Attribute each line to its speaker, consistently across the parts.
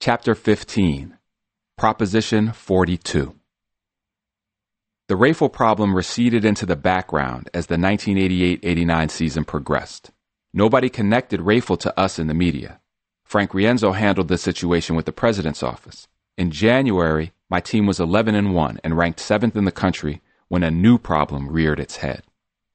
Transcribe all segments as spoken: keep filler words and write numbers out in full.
Speaker 1: Chapter fifteen, Proposition forty-two. The Rayful problem receded into the background as the nineteen eighty-eight eighty-nine season progressed. Nobody connected Rayful to us in the media. Frank Rienzo handled the situation with the president's office. In January, my team was eleven and one and ranked seventh in the country when a new problem reared its head.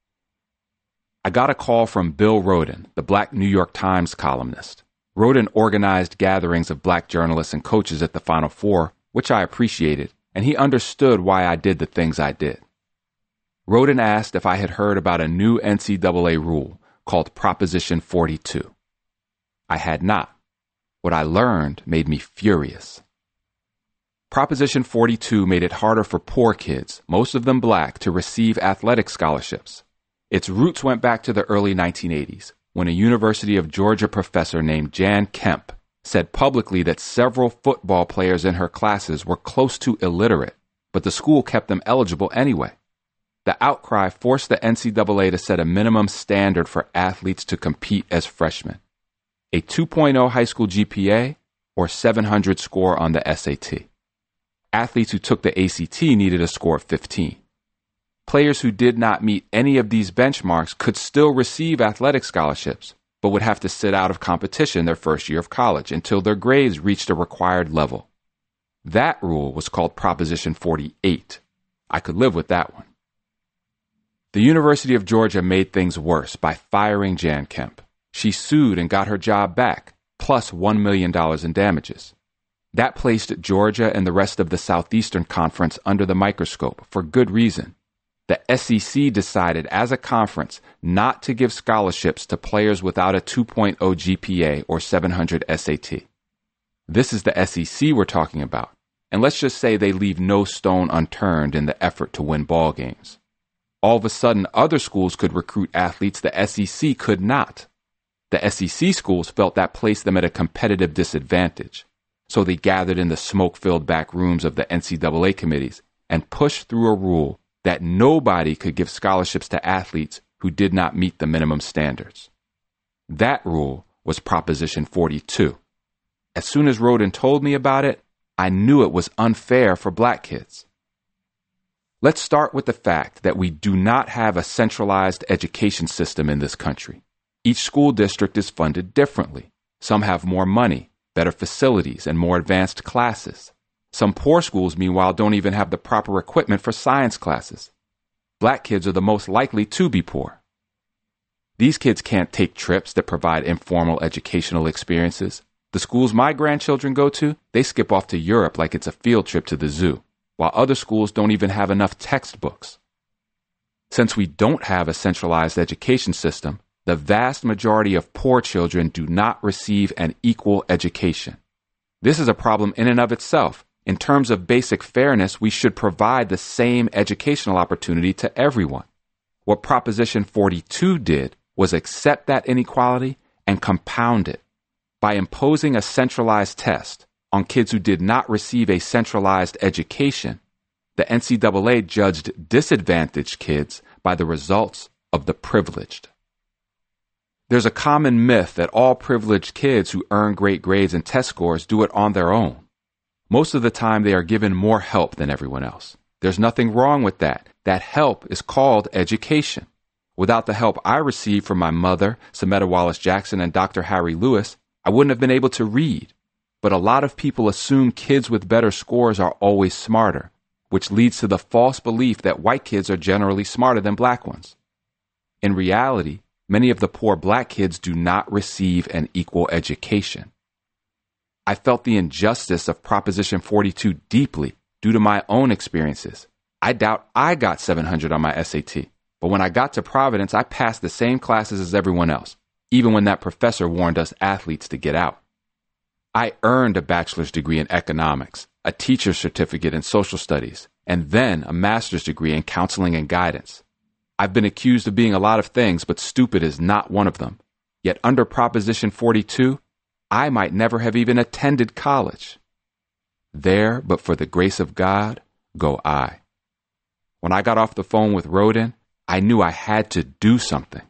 Speaker 1: I got a call from Bill Rhoden, the Black New York Times columnist. Rhoden organized gatherings of black journalists and coaches at the Final Four, which I appreciated, and he understood why I did the things I did. Rhoden asked if I had heard about a new N C double A rule called Proposition forty-two. I had not. What I learned made me furious. Proposition forty-two made it harder for poor kids, most of them black, to receive athletic scholarships. Its roots went back to the early nineteen eighties, when a University of Georgia professor named Jan Kemp said publicly that several football players in her classes were close to illiterate, but the school kept them eligible anyway. The outcry forced the N C double A to set a minimum standard for athletes to compete as freshmen: a two point oh high school G P A or seven hundred score on the S A T. Athletes who took the A C T needed a score of fifteen. Players who did not meet any of these benchmarks could still receive athletic scholarships, but would have to sit out of competition their first year of college until their grades reached a required level. That rule was called Proposition forty-eight. I could live with that one. The University of Georgia made things worse by firing Jan Kemp. She sued and got her job back, plus one million dollars in damages. That placed Georgia and the rest of the Southeastern Conference under the microscope for good reason. The S E C decided as a conference not to give scholarships to players without a two point oh G P A or seven hundred S A T. This is the S E C we're talking about, and let's just say they leave no stone unturned in the effort to win ball games. All of a sudden, other schools could recruit athletes the S E C could not. The S E C schools felt that placed them at a competitive disadvantage, so they gathered in the smoke-filled back rooms of the N C double A committees and pushed through a rule that nobody could give scholarships to athletes who did not meet the minimum standards. That rule was Proposition forty-two. As soon as Rhoden told me about it, I knew it was unfair for black kids. Let's start with the fact that we do not have a centralized education system in this country. Each school district is funded differently. Some have more money, better facilities, and more advanced classes. Some poor schools, meanwhile, don't even have the proper equipment for science classes. Black kids are the most likely to be poor. These kids can't take trips that provide informal educational experiences. The schools my grandchildren go to, they skip off to Europe like it's a field trip to the zoo, while other schools don't even have enough textbooks. Since we don't have a centralized education system, the vast majority of poor children do not receive an equal education. This is a problem in and of itself. In terms of basic fairness, we should provide the same educational opportunity to everyone. What Proposition forty-two did was accept that inequality and compound it. By imposing a centralized test on kids who did not receive a centralized education, the N C double A judged disadvantaged kids by the results of the privileged. There's a common myth that all privileged kids who earn great grades and test scores do it on their own. Most of the time, they are given more help than everyone else. There's nothing wrong with that. That help is called education. Without the help I received from my mother, Sametta Wallace Jackson, and Doctor Harry Lewis, I wouldn't have been able to read. But a lot of people assume kids with better scores are always smarter, which leads to the false belief that white kids are generally smarter than black ones. In reality, many of the poor black kids do not receive an equal education. I felt the injustice of Proposition forty-two deeply due to my own experiences. I doubt I got seven hundred on my S A T, but when I got to Providence, I passed the same classes as everyone else, even when that professor warned us athletes to get out. I earned a bachelor's degree in economics, a teacher's certificate in social studies, and then a master's degree in counseling and guidance. I've been accused of being a lot of things, but stupid is not one of them. Yet under Proposition forty-two, I might never have even attended college. There, but for the grace of God, go I. When I got off the phone with Rhoden, I knew I had to do something.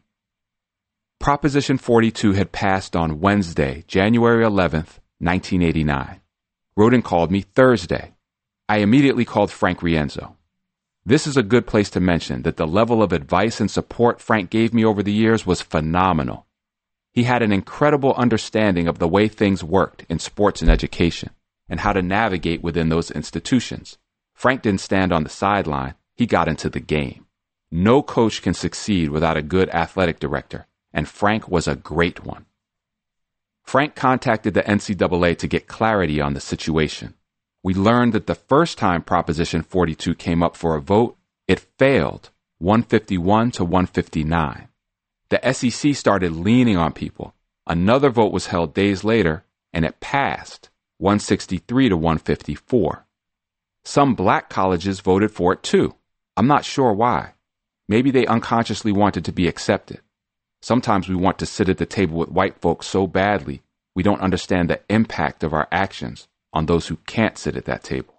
Speaker 1: Proposition forty-two had passed on Wednesday, January eleventh, nineteen eighty-nine. Roden called me Thursday. I immediately called Frank Rienzo. This is a good place to mention that the level of advice and support Frank gave me over the years was phenomenal. He had an incredible understanding of the way things worked in sports and education and how to navigate within those institutions. Frank didn't stand on the sideline. He got into the game. No coach can succeed without a good athletic director, and Frank was a great one. Frank contacted the N C double A to get clarity on the situation. We learned that the first time Proposition forty-two came up for a vote, it failed, one fifty-one to one fifty-nine. The S E C started leaning on people. Another vote was held days later, and it passed, one sixty-three to one fifty-four. Some black colleges voted for it too. I'm not sure why. Maybe they unconsciously wanted to be accepted. Sometimes we want to sit at the table with white folks so badly we don't understand the impact of our actions on those who can't sit at that table.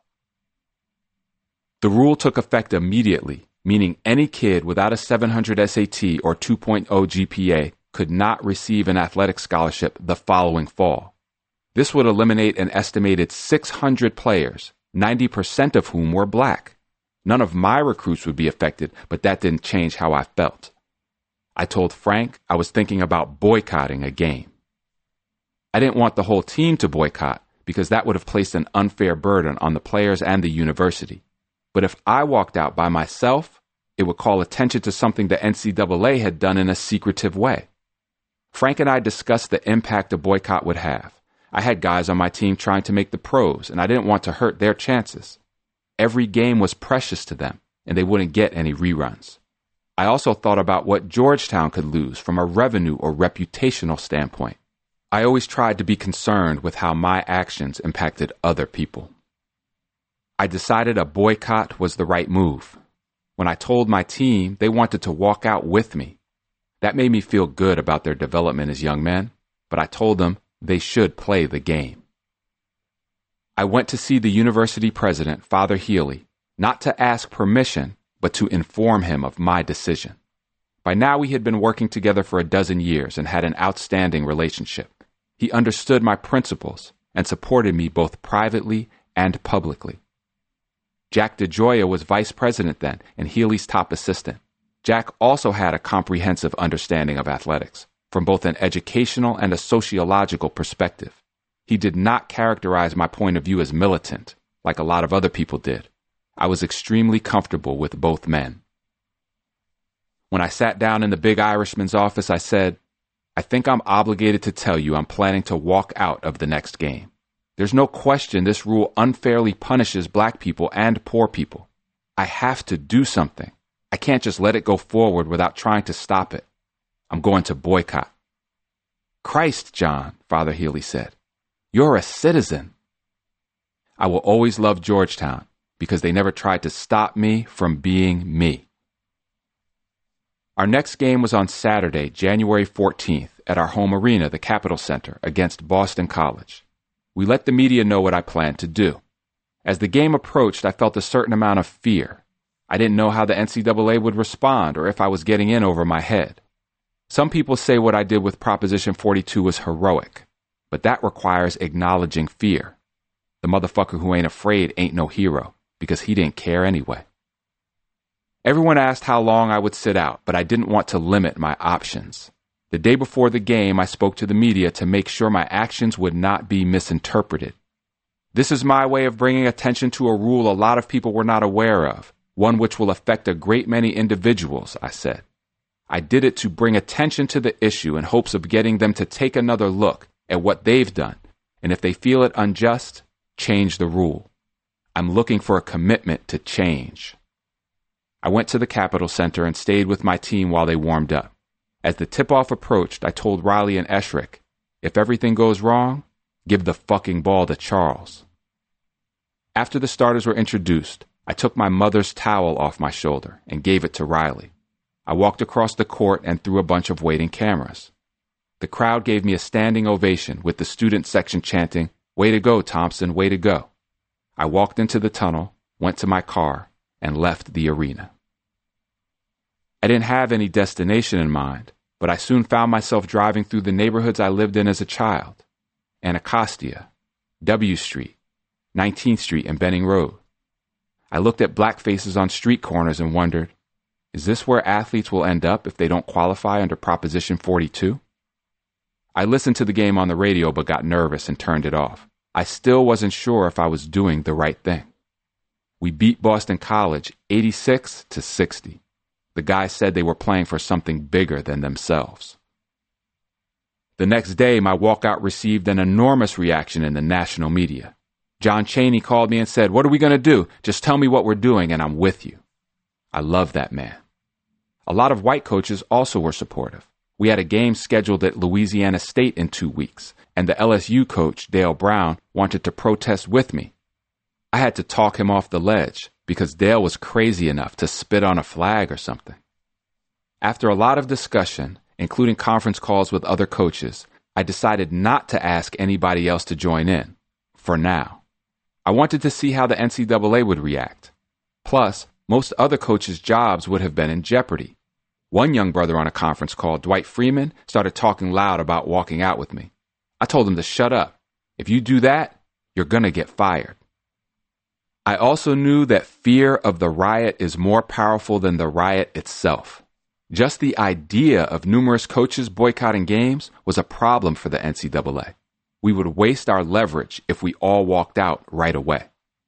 Speaker 1: The rule took effect immediately, meaning any kid without a seven hundred S A T or two point oh G P A could not receive an athletic scholarship the following fall. This would eliminate an estimated six hundred players, ninety percent of whom were black. None of my recruits would be affected, but that didn't change how I felt. I told Frank I was thinking about boycotting a game. I didn't want the whole team to boycott because that would have placed an unfair burden on the players and the university. But if I walked out by myself, it would call attention to something the N C double A had done in a secretive way. Frank and I discussed the impact a boycott would have. I had guys on my team trying to make the pros, and I didn't want to hurt their chances. Every game was precious to them, and they wouldn't get any reruns. I also thought about what Georgetown could lose from a revenue or reputational standpoint. I always tried to be concerned with how my actions impacted other people. I decided a boycott was the right move. When I told my team, they wanted to walk out with me. That made me feel good about their development as young men, but I told them they should play the game. I went to see the university president, Father Healy, not to ask permission, but to inform him of my decision. By now we had been working together for a dozen years and had an outstanding relationship. He understood my principles and supported me both privately and publicly. Jack DeGioia was vice president then and Healy's top assistant. Jack also had a comprehensive understanding of athletics, from both an educational and a sociological perspective. He did not characterize my point of view as militant, like a lot of other people did. I was extremely comfortable with both men. When I sat down in the big Irishman's office, I said, I think I'm obligated to tell you I'm planning to walk out of the next game. There's no question this rule unfairly punishes black people and poor people. I have to do something. I can't just let it go forward without trying to stop it. I'm going to boycott. Christ, John, Father Healy said, you're a citizen. I will always love Georgetown because they never tried to stop me from being me. Our next game was on Saturday, January fourteenth, at our home arena, the Capitol Center, against Boston College. We let the media know what I planned to do. As the game approached, I felt a certain amount of fear. I didn't know how the N C double A would respond or if I was getting in over my head. Some people say what I did with Proposition forty-two was heroic, but that requires acknowledging fear. The motherfucker who ain't afraid ain't no hero, because he didn't care anyway. Everyone asked how long I would sit out, but I didn't want to limit my options. The day before the game, I spoke to the media to make sure my actions would not be misinterpreted. This is my way of bringing attention to a rule a lot of people were not aware of, one which will affect a great many individuals, I said. I did it to bring attention to the issue in hopes of getting them to take another look at what they've done, and if they feel it unjust, change the rule. I'm looking for a commitment to change. I went to the Capitol Center and stayed with my team while they warmed up. As the tip-off approached, I told Riley and Eshrick, if everything goes wrong, give the fucking ball to Charles. After the starters were introduced, I took my mother's towel off my shoulder and gave it to Riley. I walked across the court and through a bunch of waiting cameras. The crowd gave me a standing ovation with the student section chanting, "Way to go, Thompson, way to go." I walked into the tunnel, went to my car, and left the arena. I didn't have any destination in mind, but I soon found myself driving through the neighborhoods I lived in as a child. Anacostia, W Street, nineteenth Street and Benning Road. I looked at black faces on street corners and wondered, is this where athletes will end up if they don't qualify under Proposition forty-two? I listened to the game on the radio but got nervous and turned it off. I still wasn't sure if I was doing the right thing. We beat Boston College eighty-six to sixty. The guys said they were playing for something bigger than themselves. The next day, my walkout received an enormous reaction in the national media. John Chaney called me and said, "What are we going to do? Just tell me what we're doing and I'm with you." I love that man. A lot of white coaches also were supportive. We had a game scheduled at Louisiana State in two weeks, and the L S U coach, Dale Brown, wanted to protest with me. I had to talk him off the ledge because Dale was crazy enough to spit on a flag or something. After a lot of discussion, including conference calls with other coaches, I decided not to ask anybody else to join in, for now. I wanted to see how the N C double A would react. Plus, most other coaches' jobs would have been in jeopardy. One young brother on a conference call, Dwight Freeman, started talking loud about walking out with me. I told him to shut up. If you do that, you're going to get fired. I also knew that fear of the riot is more powerful than the riot itself. Just the idea of numerous coaches boycotting games was a problem for the N C double A. We would waste our leverage if we all walked out right away.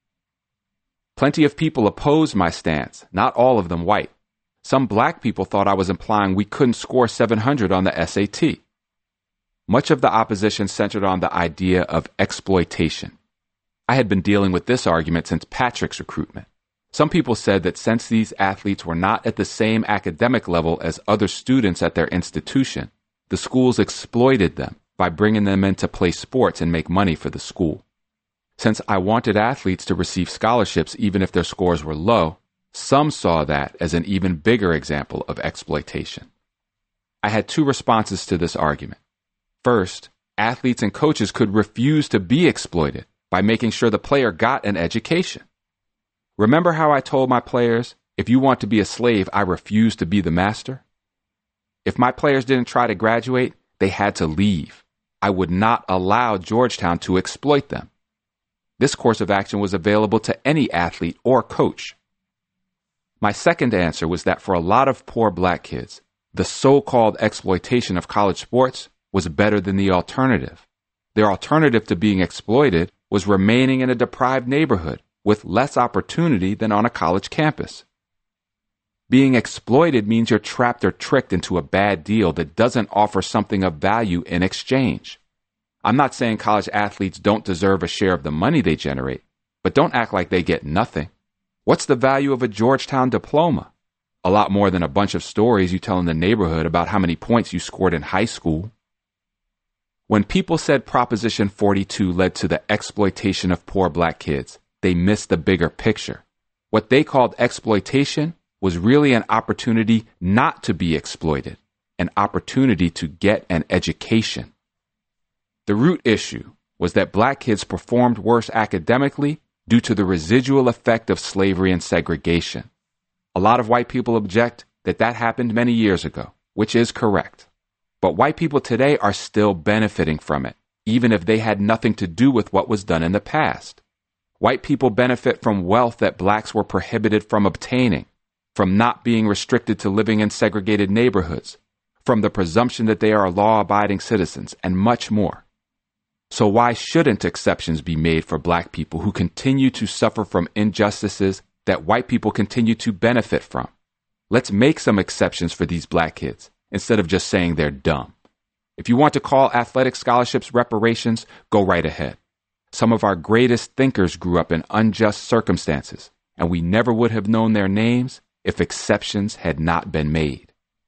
Speaker 1: Plenty of people opposed my stance, not all of them white. Some black people thought I was implying we couldn't score seven hundred on the S A T. Much of the opposition centered on the idea of exploitation. I had been dealing with this argument since Patrick's recruitment. Some people said that since these athletes were not at the same academic level as other students at their institution, the schools exploited them by bringing them in to play sports and make money for the school. Since I wanted athletes to receive scholarships even if their scores were low, some saw that as an even bigger example of exploitation. I had two responses to this argument. First, athletes and coaches could refuse to be exploited by making sure the player got an education. Remember how I told my players, if you want to be a slave, I refuse to be the master? If my players didn't try to graduate, they had to leave. I would not allow Georgetown to exploit them. This course of action was available to any athlete or coach. My second answer was that for a lot of poor black kids, the so-called exploitation of college sports was better than the alternative. Their alternative to being exploited was remaining in a deprived neighborhood with less opportunity than on a college campus. Being exploited means you're trapped or tricked into a bad deal that doesn't offer something of value in exchange. I'm not saying college athletes don't deserve a share of the money they generate, but don't act like they get nothing. What's the value of a Georgetown diploma? A lot more than a bunch of stories you tell in the neighborhood about how many points you scored in high school. When people said Proposition forty-two led to the exploitation of poor black kids, they missed the bigger picture. What they called exploitation was really an opportunity not to be exploited, an opportunity to get an education. The root issue was that black kids performed worse academically due to the residual effect of slavery and segregation. A lot of white people object that that happened many years ago, which is correct. But white people today are still benefiting from it, even if they had nothing to do with what was done in the past. White people benefit from wealth that blacks were prohibited from obtaining, from not being restricted to living in segregated neighborhoods, from the presumption that they are law-abiding citizens, and much more. So why shouldn't exceptions be made for black people who continue to suffer from injustices that white people continue to benefit from? Let's make some exceptions for these black kids, instead of just saying they're dumb. If you want to call athletic scholarships reparations, go right ahead. Some of our greatest thinkers grew up in unjust circumstances, and we never would have known their names if exceptions had not been made.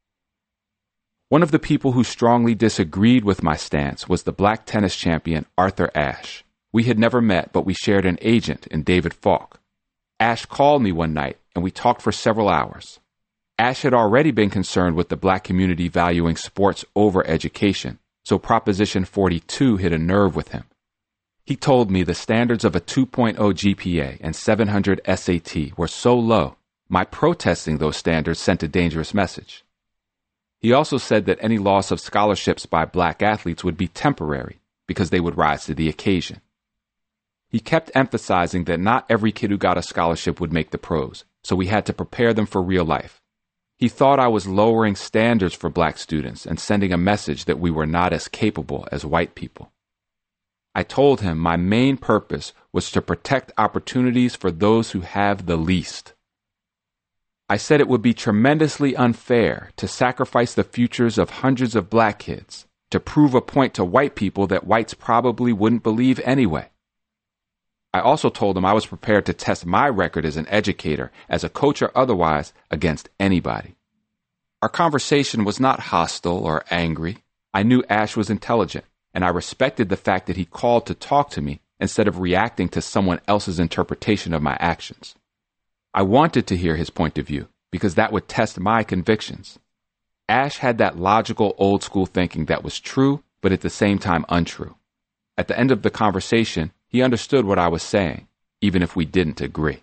Speaker 1: One of the people who strongly disagreed with my stance was the black tennis champion Arthur Ashe. We had never met, but we shared an agent in David Falk. Ashe called me one night, and we talked for several hours. Ashe had already been concerned with the black community valuing sports over education, so Proposition forty-two hit a nerve with him. He told me the standards of a two point oh G P A and seven hundred S A T were so low, my protesting those standards sent a dangerous message. He also said that any loss of scholarships by black athletes would be temporary because they would rise to the occasion. He kept emphasizing that not every kid who got a scholarship would make the pros, so we had to prepare them for real life. He thought I was lowering standards for black students and sending a message that we were not as capable as white people. I told him my main purpose was to protect opportunities for those who have the least. I said it would be tremendously unfair to sacrifice the futures of hundreds of black kids to prove a point to white people that whites probably wouldn't believe anyway. I also told him I was prepared to test my record as an educator, as a coach or otherwise, against anybody. Our conversation was not hostile or angry. I knew Ash was intelligent, and I respected the fact that he called to talk to me instead of reacting to someone else's interpretation of my actions. I wanted to hear his point of view because that would test my convictions. Ash had that logical old-school thinking that was true, but at the same time untrue. At the end of the conversation, he understood what I was saying, even if we didn't agree.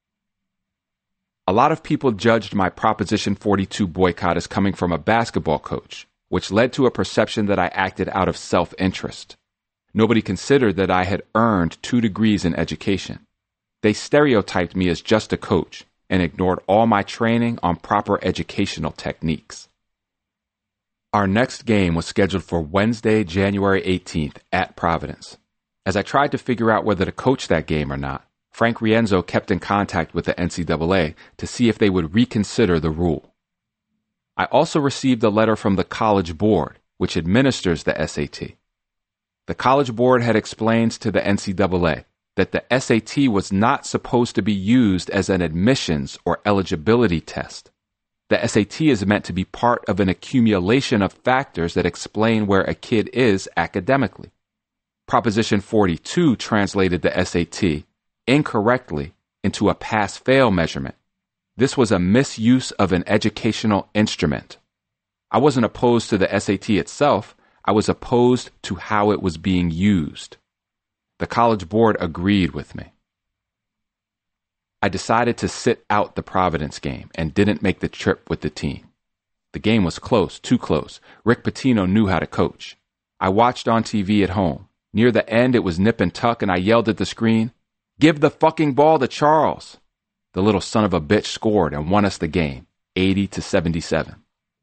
Speaker 1: A lot of people judged my Proposition forty-two boycott as coming from a basketball coach, which led to a perception that I acted out of self-interest. Nobody considered that I had earned two degrees in education. They stereotyped me as just a coach and ignored all my training on proper educational techniques. Our next game was scheduled for Wednesday, January eighteenth at Providence. As I tried to figure out whether to coach that game or not, Frank Rienzo kept in contact with the N C double A to see if they would reconsider the rule. I also received a letter from the College Board, which administers the S A T. The College Board had explained to the N C double A that the S A T was not supposed to be used as an admissions or eligibility test. The S A T is meant to be part of an accumulation of factors that explain where a kid is academically. Proposition forty-two translated the S A T incorrectly into a pass-fail measurement. This was a misuse of an educational instrument. I wasn't opposed to the S A T itself. I was opposed to how it was being used. The College Board agreed with me. I decided to sit out the Providence game and didn't make the trip with the team. The game was close, too close. Rick Pitino knew how to coach. I watched on T V at home. Near the end, it was nip and tuck, and I yelled at the screen, "Give the fucking ball to Charles!" The little son of a bitch scored and won us the game, eighty to seventy-seven.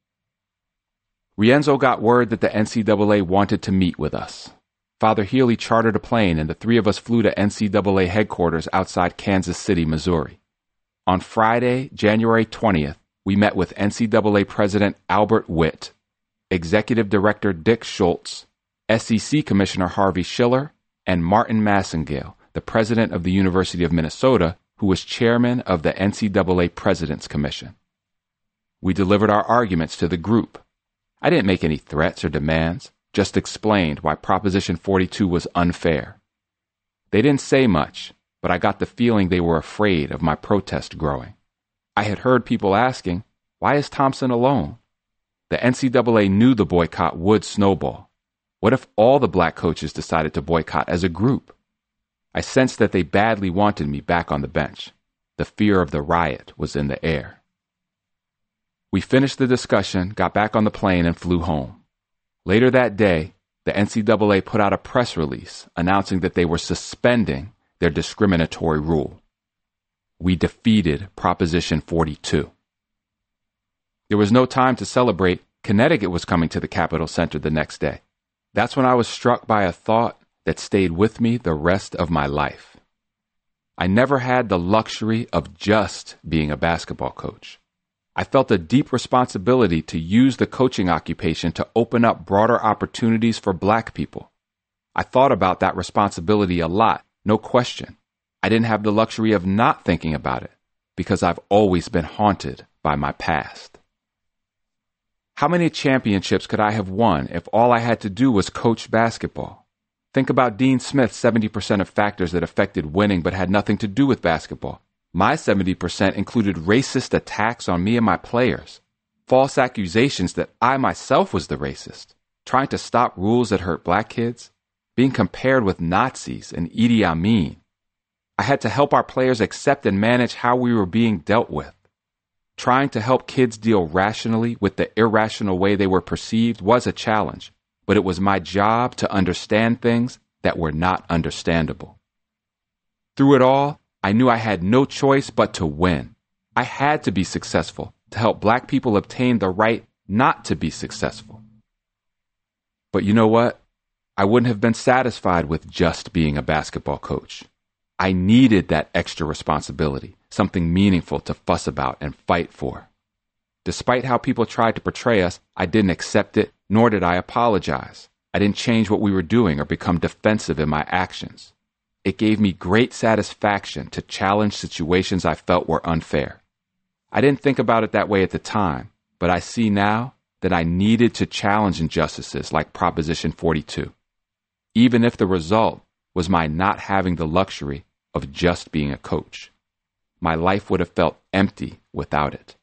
Speaker 1: Rienzo got word that the N C double A wanted to meet with us. Father Healy chartered a plane, and the three of us flew to N C double A headquarters outside Kansas City, Missouri. On Friday, January twentieth, we met with N C double A President Albert Witt, Executive Director Dick Schultz, S E C Commissioner Harvey Schiller, and Martin Massengale, the president of the University of Minnesota, who was chairman of the N C double A President's Commission. We delivered our arguments to the group. I didn't make any threats or demands, just explained why Proposition forty-two was unfair. They didn't say much, but I got the feeling they were afraid of my protest growing. I had heard people asking, why is Thompson alone? The N C double A knew the boycott would snowball. What if all the black coaches decided to boycott as a group? I sensed that they badly wanted me back on the bench. The fear of the riot was in the air. We finished the discussion, got back on the plane, and flew home. Later that day, the N C double A put out a press release announcing that they were suspending their discriminatory rule. We defeated Proposition forty-two. There was no time to celebrate. Connecticut was coming to the Capitol Center the next day. That's when I was struck by a thought that stayed with me the rest of my life. I never had the luxury of just being a basketball coach. I felt a deep responsibility to use the coaching occupation to open up broader opportunities for black people. I thought about that responsibility a lot, no question. I didn't have the luxury of not thinking about it because I've always been haunted by my past. How many championships could I have won if all I had to do was coach basketball? Think about Dean Smith's seventy percent of factors that affected winning but had nothing to do with basketball. My seventy percent included racist attacks on me and my players, false accusations that I myself was the racist, trying to stop rules that hurt black kids, being compared with Nazis and Idi Amin. I had to help our players accept and manage how we were being dealt with. Trying to help kids deal rationally with the irrational way they were perceived was a challenge, but it was my job to understand things that were not understandable. Through it all, I knew I had no choice but to win. I had to be successful to help black people obtain the right not to be successful. But you know what? I wouldn't have been satisfied with just being a basketball coach. I needed that extra responsibility, something meaningful to fuss about and fight for. Despite how people tried to portray us, I didn't accept it, nor did I apologize. I didn't change what we were doing or become defensive in my actions. It gave me great satisfaction to challenge situations I felt were unfair. I didn't think about it that way at the time, but I see now that I needed to challenge injustices like Proposition forty-two, even if the result was my not having the luxury of just being a coach. My life would have felt empty without it.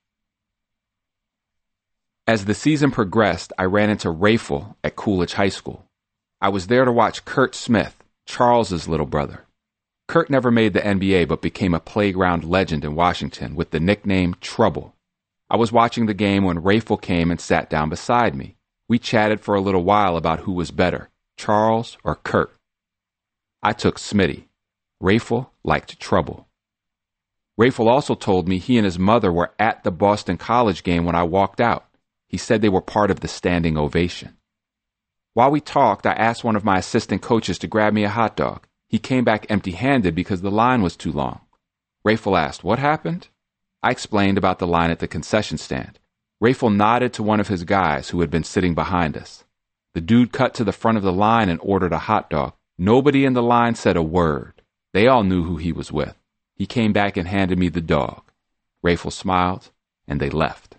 Speaker 1: As the season progressed, I ran into Rayful at Coolidge High School. I was there to watch Curt Smith, Charles's little brother. Curt never made the N B A but became a playground legend in Washington with the nickname Trouble. I was watching the game when Rayful came and sat down beside me. We chatted for a little while about who was better, Charles or Curt. I took Smitty. Rayful liked Trouble. Rayful also told me he and his mother were at the Boston College game when I walked out. He said they were part of the standing ovation. While we talked, I asked one of my assistant coaches to grab me a hot dog. He came back empty-handed because the line was too long. Rayful asked, "What happened?" I explained about the line at the concession stand. Rayful nodded to one of his guys who had been sitting behind us. The dude cut to the front of the line and ordered a hot dog. Nobody in the line said a word. They all knew who he was with. He came back and handed me the dog. Rayful smiled, and they left.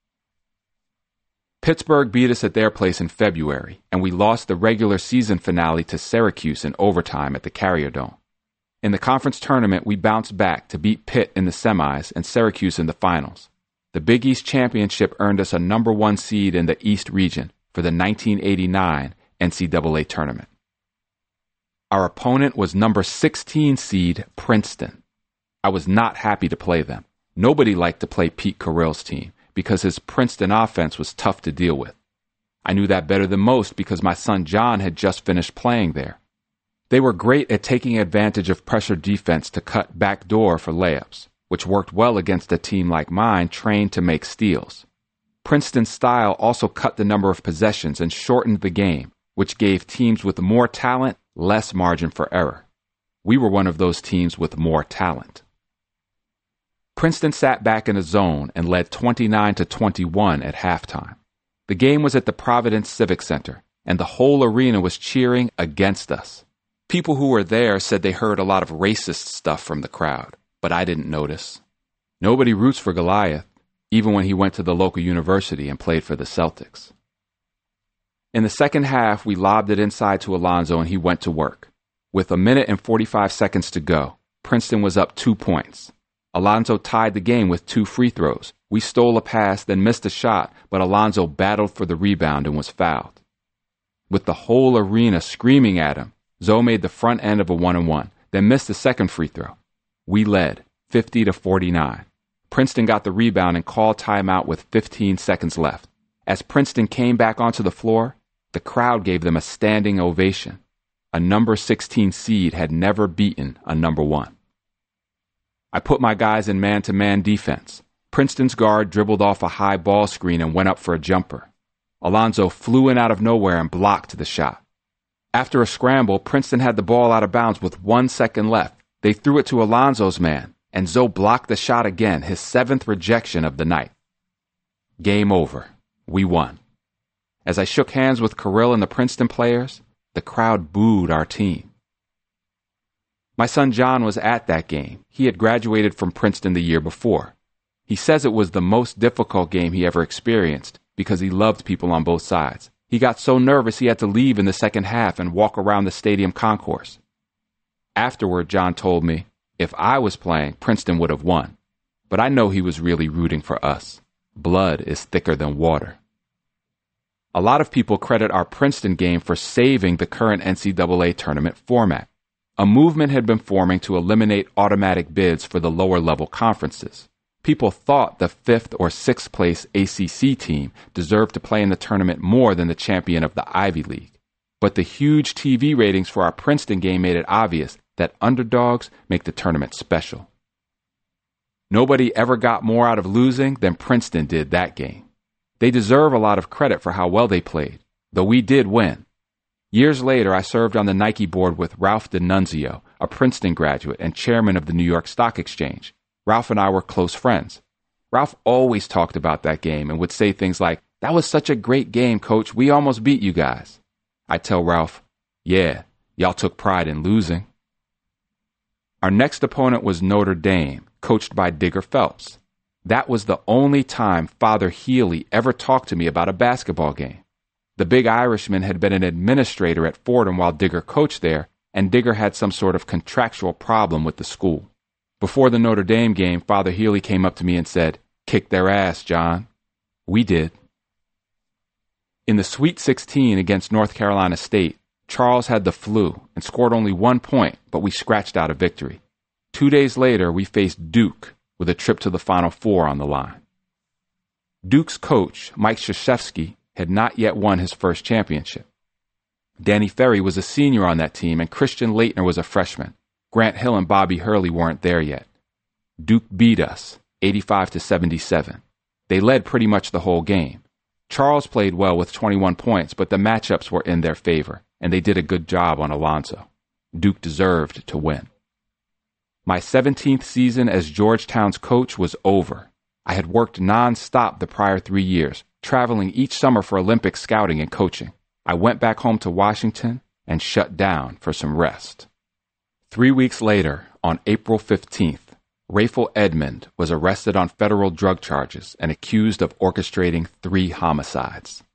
Speaker 1: Pittsburgh beat us at their place in February, and we lost the regular season finale to Syracuse in overtime at the Carrier Dome. In the conference tournament, we bounced back to beat Pitt in the semis and Syracuse in the finals. The Big East Championship earned us a number one seed in the East region for the nineteen eighty-nine N C double A tournament. Our opponent was number sixteen seed Princeton. I was not happy to play them. Nobody liked to play Pete Carrill's team because his Princeton offense was tough to deal with. I knew that better than most because my son John had just finished playing there. They were great at taking advantage of pressure defense to cut back door for layups, which worked well against a team like mine trained to make steals. Princeton's style also cut the number of possessions and shortened the game, which gave teams with more talent less margin for error. We were one of those teams with more talent. Princeton sat back in a zone and led twenty-nine to twenty-one at halftime. The game was at the Providence Civic Center, and the whole arena was cheering against us. People who were there said they heard a lot of racist stuff from the crowd, but I didn't notice. Nobody roots for Goliath, even when he went to the local university and played for the Celtics. In the second half, we lobbed it inside to Alonzo and he went to work. With a minute and forty-five seconds to go, Princeton was up two points. Alonzo tied the game with two free throws. We stole a pass, then missed a shot, but Alonzo battled for the rebound and was fouled. With the whole arena screaming at him, Zoe made the front end of a one-and-one, then missed the second free throw. We led, fifty to forty-nine. Princeton got the rebound and called timeout with fifteen seconds left. As Princeton came back onto the floor, the crowd gave them a standing ovation. A number sixteen seed had never beaten a number one. I put my guys in man-to-man defense. Princeton's guard dribbled off a high ball screen and went up for a jumper. Alonzo flew in out of nowhere and blocked the shot. After a scramble, Princeton had the ball out of bounds with one second left. They threw it to Alonzo's man, and Zoe blocked the shot again, his seventh rejection of the night. Game over. We won. As I shook hands with Carrill and the Princeton players, the crowd booed our team. My son John was at that game. He had graduated from Princeton the year before. He says it was the most difficult game he ever experienced because he loved people on both sides. He got so nervous he had to leave in the second half and walk around the stadium concourse. Afterward, John told me, if I was playing, Princeton would have won. But I know he was really rooting for us. Blood is thicker than water. A lot of people credit our Princeton game for saving the current N C double A tournament format. A movement had been forming to eliminate automatic bids for the lower-level conferences. People thought the fifth or sixth place A C C team deserved to play in the tournament more than the champion of the Ivy League. But the huge T V ratings for our Princeton game made it obvious that underdogs make the tournament special. Nobody ever got more out of losing than Princeton did that game. They deserve a lot of credit for how well they played, though we did win. Years later, I served on the Nike board with Ralph D'Annunzio, a Princeton graduate and chairman of the New York Stock Exchange. Ralph and I were close friends. Ralph always talked about that game and would say things like, "That was such a great game, Coach. We almost beat you guys." I'd tell Ralph, "Yeah, y'all took pride in losing." Our next opponent was Notre Dame, coached by Digger Phelps. That was the only time Father Healy ever talked to me about a basketball game. The big Irishman had been an administrator at Fordham while Digger coached there, and Digger had some sort of contractual problem with the school. Before the Notre Dame game, Father Healy came up to me and said, "Kick their ass, John." We did. In the Sweet sixteen against North Carolina State, Charles had the flu and scored only one point, but we scratched out a victory. Two days later, we faced Duke with a trip to the Final Four on the line. Duke's coach, Mike Krzyzewski, had not yet won his first championship. Danny Ferry was a senior on that team, and Christian Laettner was a freshman. Grant Hill and Bobby Hurley weren't there yet. Duke beat us, eighty-five to seventy-seven. They led pretty much the whole game. Charles played well with twenty-one points, but the matchups were in their favor, and they did a good job on Alonzo. Duke deserved to win. My seventeenth season as Georgetown's coach was over. I had worked non-stop the prior three years, traveling each summer for Olympic scouting and coaching. I went back home to Washington and shut down for some rest. Three weeks later, on April fifteenth, Rayful Edmond was arrested on federal drug charges and accused of orchestrating three homicides.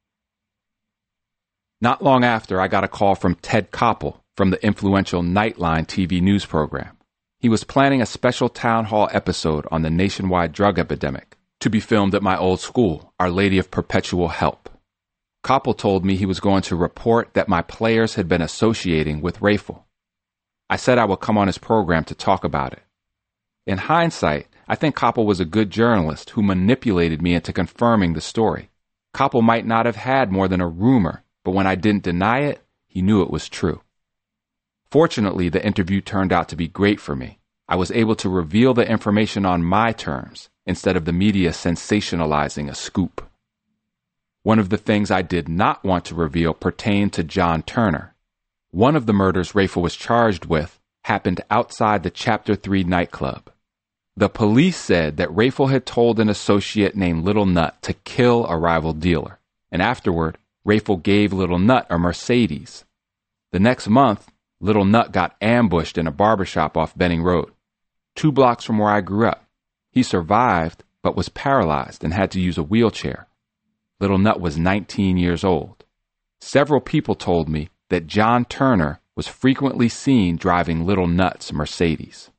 Speaker 1: Not long after, I got a call from Ted Koppel from the influential Nightline T V news program. He was planning a special town hall episode on the nationwide drug epidemic to be filmed at my old school, Our Lady of Perpetual Help. Koppel told me he was going to report that my players had been associating with Rayful. I said I would come on his program to talk about it. In hindsight, I think Koppel was a good journalist who manipulated me into confirming the story. Koppel might not have had more than a rumor, but when I didn't deny it, he knew it was true. Fortunately, the interview turned out to be great for me. I was able to reveal the information on my terms instead of the media sensationalizing a scoop. One of the things I did not want to reveal pertained to John Turner. One of the murders Rayful was charged with happened outside the Chapter three nightclub. The police said that Rayful had told an associate named Little Nut to kill a rival dealer, and afterward, Rayful gave Little Nut a Mercedes. The next month, Little Nut got ambushed in a barbershop off Benning Road, two blocks from where I grew up. He survived, but was paralyzed and had to use a wheelchair. Little Nut was nineteen years old. Several people told me that John Turner was frequently seen driving Little Nut's Mercedes.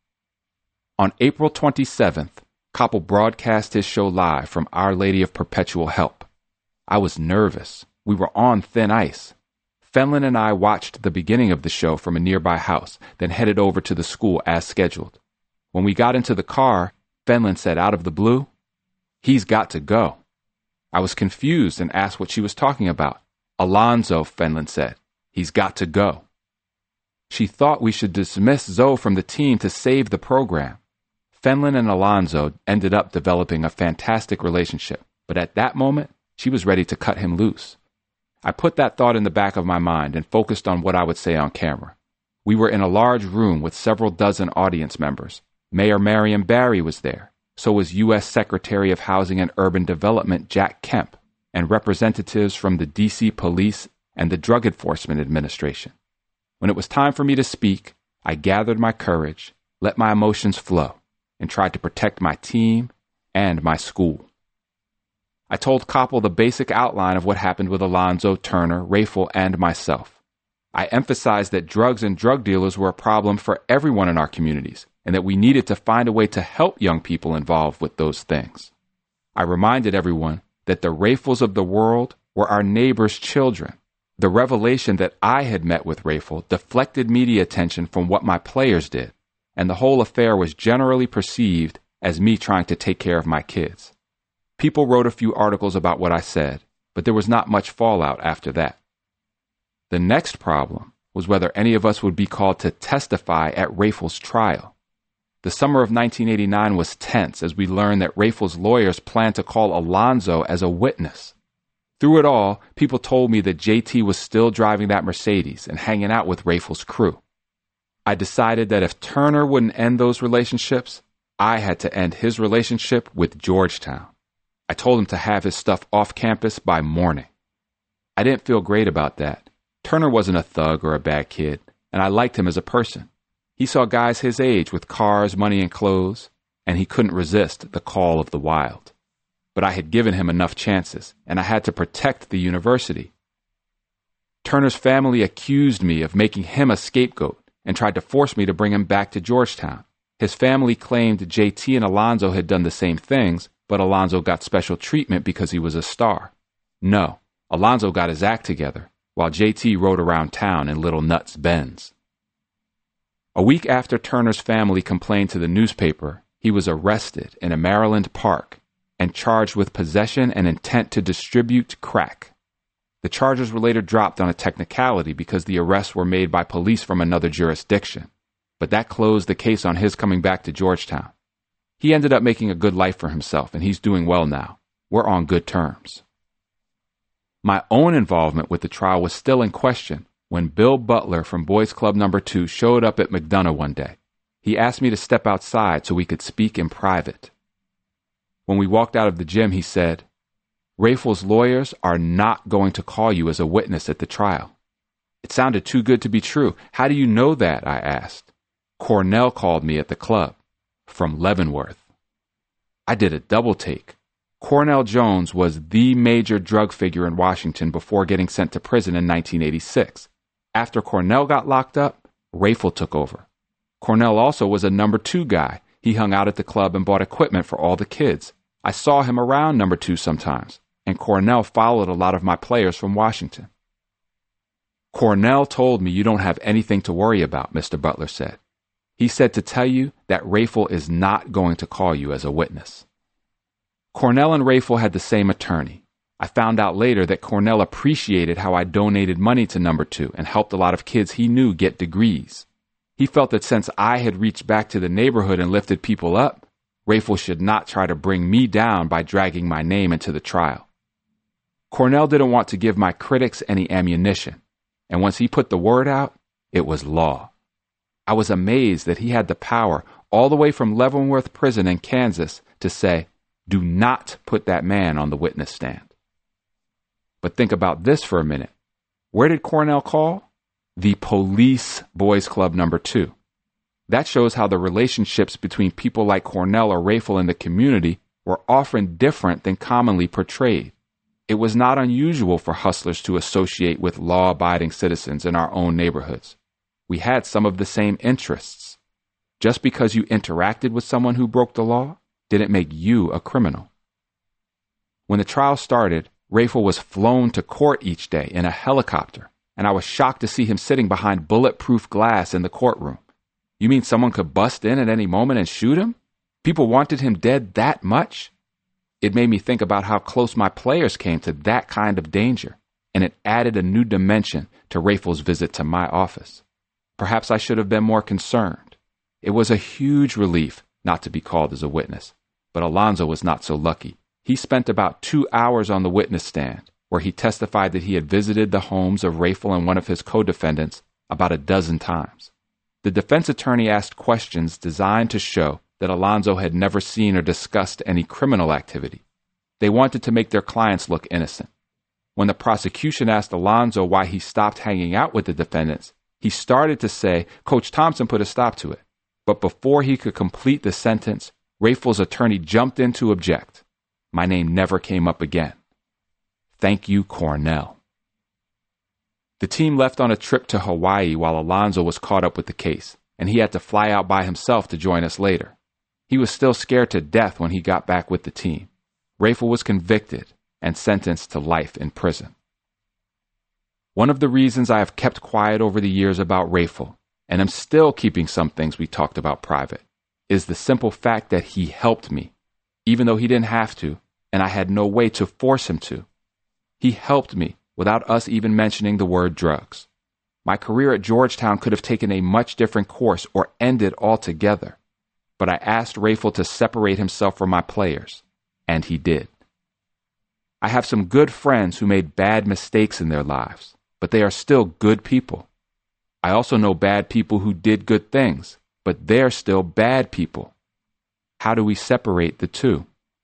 Speaker 1: On April twenty-seventh, Koppel broadcast his show live from Our Lady of Perpetual Help. I was nervous. We were on thin ice. Fenlon and I watched the beginning of the show from a nearby house, then headed over to the school as scheduled. When we got into the car, Fenlon said out of the blue, "He's got to go." I was confused and asked what she was talking about. "Alonzo," Fenlon said. "He's got to go." She thought we should dismiss Zoe from the team to save the program. Fenlon and Alonzo ended up developing a fantastic relationship, but at that moment, she was ready to cut him loose. I put that thought in the back of my mind and focused on what I would say on camera. We were in a large room with several dozen audience members. Mayor Marion Barry was there. So was U S Secretary of Housing and Urban Development Jack Kemp, and representatives from the D C Police and the Drug Enforcement Administration. When it was time for me to speak, I gathered my courage, let my emotions flow, and tried to protect my team and my school. I told Koppel the basic outline of what happened with Alonzo, Turner, Rayful, and myself. I emphasized that drugs and drug dealers were a problem for everyone in our communities, and that we needed to find a way to help young people involved with those things. I reminded everyone that the Rayfuls of the world were our neighbors' children. The revelation that I had met with Rayful deflected media attention from what my players did, and the whole affair was generally perceived as me trying to take care of my kids. People wrote a few articles about what I said, but there was not much fallout after that. The next problem was whether any of us would be called to testify at Rayful's trial. The summer of nineteen eighty-nine was tense as we learned that Rayful's lawyers planned to call Alonzo as a witness. Through it all, people told me that J T was still driving that Mercedes and hanging out with Rayful's crew. I decided that if Turner wouldn't end those relationships, I had to end his relationship with Georgetown. I told him to have his stuff off campus by morning. I didn't feel great about that. Turner wasn't a thug or a bad kid, and I liked him as a person. He saw guys his age with cars, money, and clothes, and he couldn't resist the call of the wild. But I had given him enough chances, and I had to protect the university. Turner's family accused me of making him a scapegoat and tried to force me to bring him back to Georgetown. His family claimed J T and Alonzo had done the same things, but Alonzo got special treatment because he was a star. No, Alonzo got his act together, while J T rode around town in Little Nuts Benz. A week after Turner's family complained to the newspaper, he was arrested in a Maryland park and charged with possession and intent to distribute crack. The charges were later dropped on a technicality because the arrests were made by police from another jurisdiction, but that closed the case on his coming back to Georgetown. He ended up making a good life for himself, and he's doing well now. We're on good terms. My own involvement with the trial was still in question when Bill Butler from Boys Club Number Two showed up at McDonough one day. He asked me to step outside so we could speak in private. When we walked out of the gym, he said, "Rayful's lawyers are not going to call you as a witness at the trial." It sounded too good to be true. "How do you know that?" I asked. "Cornell called me at the club, from Leavenworth." I did a double take. Cornell Jones was the major drug figure in Washington before getting sent to prison in nineteen eighty-six. After Cornell got locked up, Rayful took over. Cornell also was a number two guy. He hung out at the club and bought equipment for all the kids. I saw him around number two sometimes, and Cornell followed a lot of my players from Washington. "Cornell told me you don't have anything to worry about," Mister Butler said. "He said to tell you that Rayful is not going to call you as a witness." Cornell and Rayful had the same attorney. I found out later that Cornell appreciated how I donated money to number two and helped a lot of kids he knew get degrees. He felt that since I had reached back to the neighborhood and lifted people up, Rayful should not try to bring me down by dragging my name into the trial. Cornell didn't want to give my critics any ammunition, and once he put the word out, it was law. I was amazed that he had the power all the way from Leavenworth Prison in Kansas to say, "Do not put that man on the witness stand." But think about this for a minute. Where did Cornell call? The police Boys Club Number Two. That shows how the relationships between people like Cornell or Rayful in the community were often different than commonly portrayed. It was not unusual for hustlers to associate with law-abiding citizens in our own neighborhoods. We had some of the same interests. Just because you interacted with someone who broke the law didn't make you a criminal. When the trial started, Rayful was flown to court each day in a helicopter, and I was shocked to see him sitting behind bulletproof glass in the courtroom. You mean someone could bust in at any moment and shoot him? People wanted him dead that much? It made me think about how close my players came to that kind of danger, and it added a new dimension to Rayful's visit to my office. Perhaps I should have been more concerned. It was a huge relief not to be called as a witness, but Alonzo was not so lucky. He spent about two hours on the witness stand, where he testified that he had visited the homes of Rayful and one of his co-defendants about a dozen times. The defense attorney asked questions designed to show that Alonzo had never seen or discussed any criminal activity. They wanted to make their clients look innocent. When the prosecution asked Alonzo why he stopped hanging out with the defendants, he started to say Coach Thompson put a stop to it. But before he could complete the sentence, Rayful's attorney jumped in to object. My name never came up again. Thank you, Cornell. The team left on a trip to Hawaii while Alonzo was caught up with the case, and he had to fly out by himself to join us later. He was still scared to death when he got back with the team. Rayful was convicted and sentenced to life in prison. One of the reasons I have kept quiet over the years about Rayful, and am still keeping some things we talked about private, is the simple fact that he helped me, even though he didn't have to, and I had no way to force him to. He helped me without us even mentioning the word drugs. My career at Georgetown could have taken a much different course or ended altogether. But I asked Rayful to separate himself from my players, and he did. I have some good friends who made bad mistakes in their lives, but they are still good people. I also know bad people who did good things, but they're still bad people. How do we separate the two?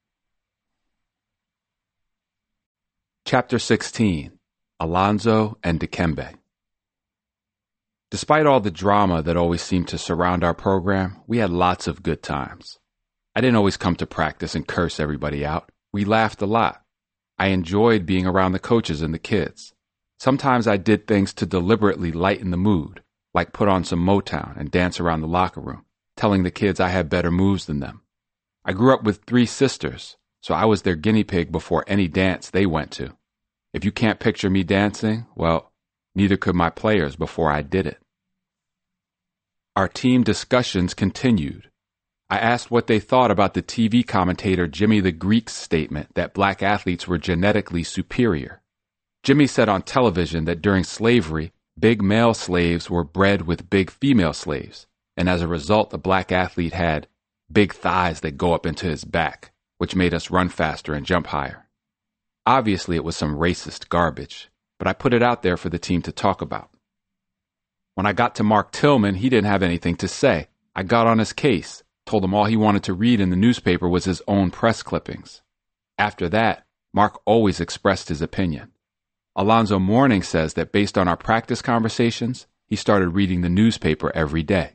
Speaker 1: Chapter sixteen. Alonzo and Dikembe. Despite all the drama that always seemed to surround our program, we had lots of good times. I didn't always come to practice and curse everybody out. We laughed a lot. I enjoyed being around the coaches and the kids. Sometimes I did things to deliberately lighten the mood, like put on some Motown and dance around the locker room, telling the kids I had better moves than them. I grew up with three sisters, so I was their guinea pig before any dance they went to. If you can't picture me dancing, well, neither could my players before I did it. Our team discussions continued. I asked what they thought about the T V commentator Jimmy the Greek's statement that black athletes were genetically superior. Jimmy said on television that during slavery, big male slaves were bred with big female slaves, and as a result, the black athlete had big thighs that go up into his back, which made us run faster and jump higher. Obviously, it was some racist garbage, but I put it out there for the team to talk about. When I got to Mark Tillman, he didn't have anything to say. I got on his case, told him all he wanted to read in the newspaper was his own press clippings. After that, Mark always expressed his opinion. Alonzo Mourning says that based on our practice conversations, he started reading the newspaper every day.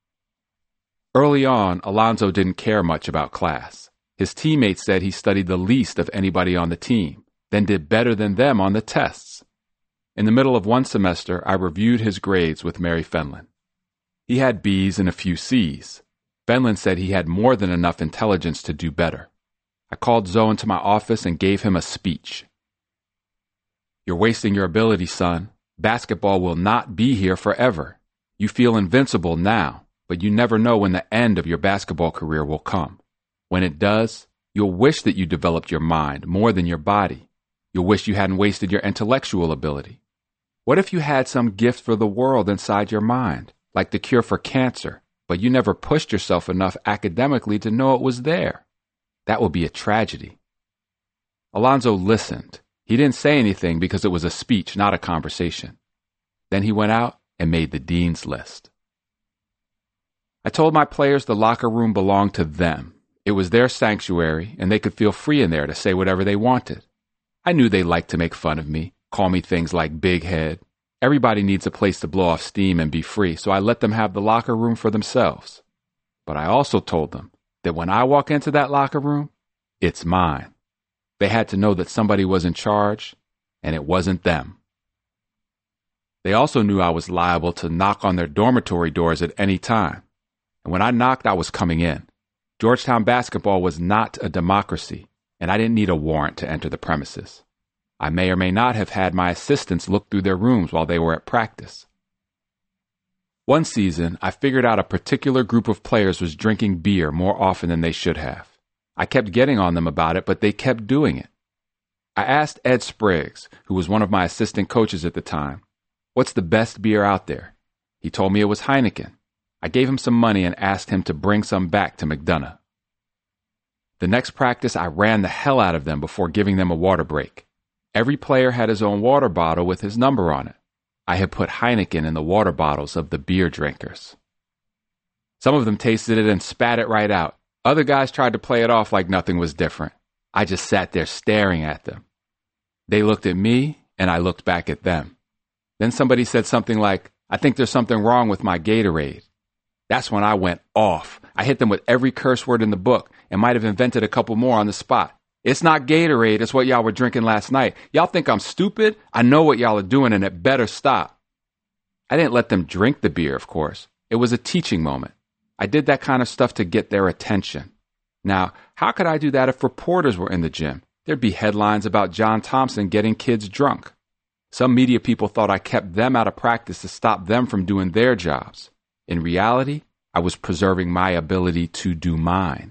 Speaker 1: Early on, Alonzo didn't care much about class. His teammates said he studied the least of anybody on the team, then did better than them on the tests. In the middle of one semester, I reviewed his grades with Mary Fenlon. He had B's and a few C's. Fenlon said he had more than enough intelligence to do better. I called Zoe into my office and gave him a speech. You're wasting your ability, son. Basketball will not be here forever. You feel invincible now, but you never know when the end of your basketball career will come. When it does, you'll wish that you developed your mind more than your body. You'll wish you hadn't wasted your intellectual ability. What if you had some gift for the world inside your mind, like the cure for cancer, but you never pushed yourself enough academically to know it was there? That would be a tragedy. Alonzo listened. He didn't say anything because it was a speech, not a conversation. Then he went out and made the dean's list. I told my players the locker room belonged to them. It was their sanctuary, and they could feel free in there to say whatever they wanted. I knew they liked to make fun of me, call me things like big head. Everybody needs a place to blow off steam and be free, so I let them have the locker room for themselves. But I also told them that when I walk into that locker room, it's mine. They had to know that somebody was in charge, and it wasn't them. They also knew I was liable to knock on their dormitory doors at any time. And when I knocked, I was coming in. Georgetown basketball was not a democracy, and I didn't need a warrant to enter the premises. I may or may not have had my assistants look through their rooms while they were at practice. One season, I figured out a particular group of players was drinking beer more often than they should have. I kept getting on them about it, but they kept doing it. I asked Ed Spriggs, who was one of my assistant coaches at the time, "What's the best beer out there?" He told me it was Heineken. I gave him some money and asked him to bring some back to McDonough. The next practice, I ran the hell out of them before giving them a water break. Every player had his own water bottle with his number on it. I had put Heineken in the water bottles of the beer drinkers. Some of them tasted it and spat it right out. Other guys tried to play it off like nothing was different. I just sat there staring at them. They looked at me, and I looked back at them. Then somebody said something like, "I think there's something wrong with my Gatorade." That's when I went off. I hit them with every curse word in the book and might have invented a couple more on the spot. "It's not Gatorade, it's what y'all were drinking last night. Y'all think I'm stupid? I know what y'all are doing, and it better stop." I didn't let them drink the beer, of course. It was a teaching moment. I did that kind of stuff to get their attention. Now, how could I do that if reporters were in the gym? There'd be headlines about John Thompson getting kids drunk. Some media people thought I kept them out of practice to stop them from doing their jobs. In reality, I was preserving my ability to do mine.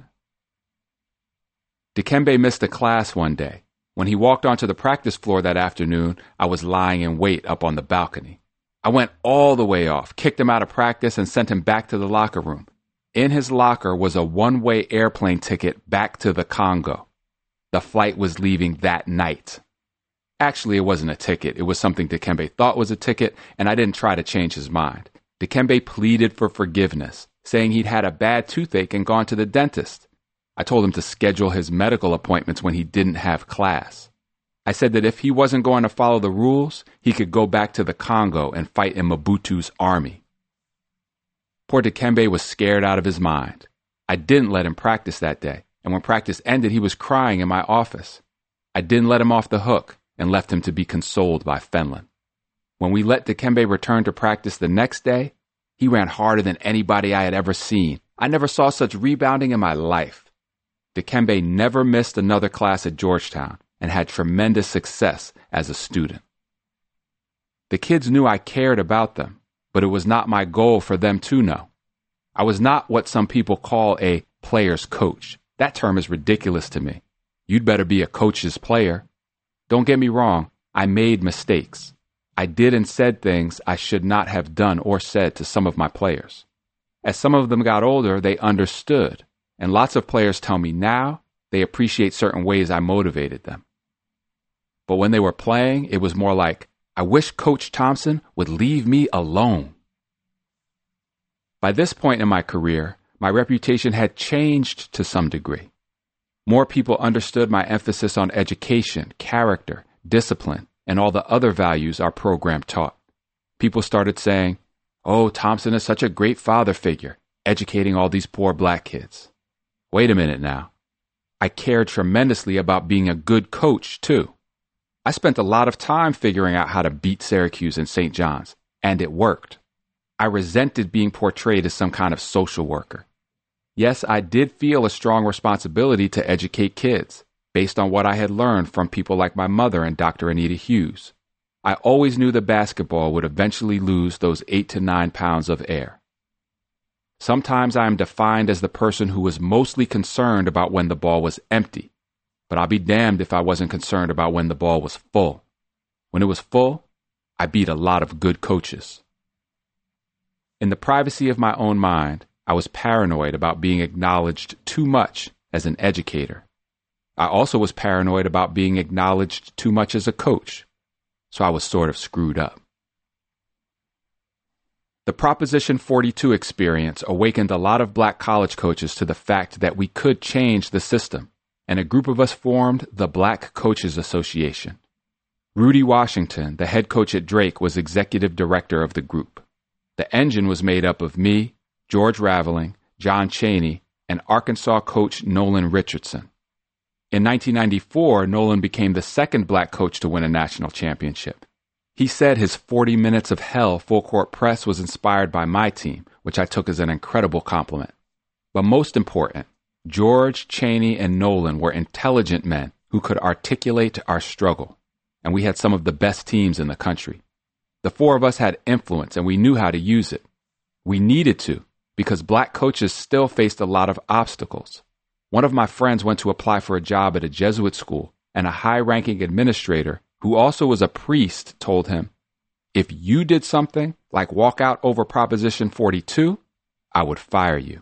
Speaker 1: Dikembe missed a class one day. When he walked onto the practice floor that afternoon, I was lying in wait up on the balcony. I went all the way off, kicked him out of practice, and sent him back to the locker room. In his locker was a one-way airplane ticket back to the Congo. The flight was leaving that night. Actually, it wasn't a ticket. It was something Dikembe thought was a ticket, and I didn't try to change his mind. Dikembe pleaded for forgiveness, saying he'd had a bad toothache and gone to the dentist. I told him to schedule his medical appointments when he didn't have class. I said that if he wasn't going to follow the rules, he could go back to the Congo and fight in Mobutu's army. Poor Dikembe was scared out of his mind. I didn't let him practice that day, and when practice ended, he was crying in my office. I didn't let him off the hook and left him to be consoled by Fenlon. When we let Dikembe return to practice the next day, he ran harder than anybody I had ever seen. I never saw such rebounding in my life. Dikembe never missed another class at Georgetown and had tremendous success as a student. The kids knew I cared about them, but it was not my goal for them to know. I was not what some people call a player's coach. That term is ridiculous to me. You'd better be a coach's player. Don't get me wrong, I made mistakes. I did and said things I should not have done or said to some of my players. As some of them got older, they understood, and lots of players tell me now they appreciate certain ways I motivated them. But when they were playing, it was more like, I wish Coach Thompson would leave me alone. By this point in my career, my reputation had changed to some degree. More people understood my emphasis on education, character, discipline, and all the other values our program taught. People started saying, oh, Thompson is such a great father figure, educating all these poor black kids. Wait a minute now. I cared tremendously about being a good coach, too. I spent a lot of time figuring out how to beat Syracuse and Saint John's, and it worked. I resented being portrayed as some kind of social worker. Yes, I did feel a strong responsibility to educate kids, based on what I had learned from people like my mother and Doctor Anita Hughes. I always knew that basketball would eventually lose those eight to nine pounds of air. Sometimes I am defined as the person who was mostly concerned about when the ball was empty, but I'll be damned if I wasn't concerned about when the ball was full. When it was full, I beat a lot of good coaches. In the privacy of my own mind, I was paranoid about being acknowledged too much as an educator. I also was paranoid about being acknowledged too much as a coach, so I was sort of screwed up. The Proposition forty-two experience awakened a lot of black college coaches to the fact that we could change the system, and a group of us formed the Black Coaches Association. Rudy Washington, the head coach at Drake, was executive director of the group. The engine was made up of me, George Raveling, John Chaney, and Arkansas coach Nolan Richardson. In nineteen ninety-four, Nolan became the second black coach to win a national championship. He said his forty minutes of hell full-court press was inspired by my team, which I took as an incredible compliment. But most important, George, Chaney, and Nolan were intelligent men who could articulate our struggle, and we had some of the best teams in the country. The four of us had influence, and we knew how to use it. We needed to, because black coaches still faced a lot of obstacles. One of my friends went to apply for a job at a Jesuit school, and a high-ranking administrator, who also was a priest, told him, if you did something like walk out over Proposition forty-two, I would fire you.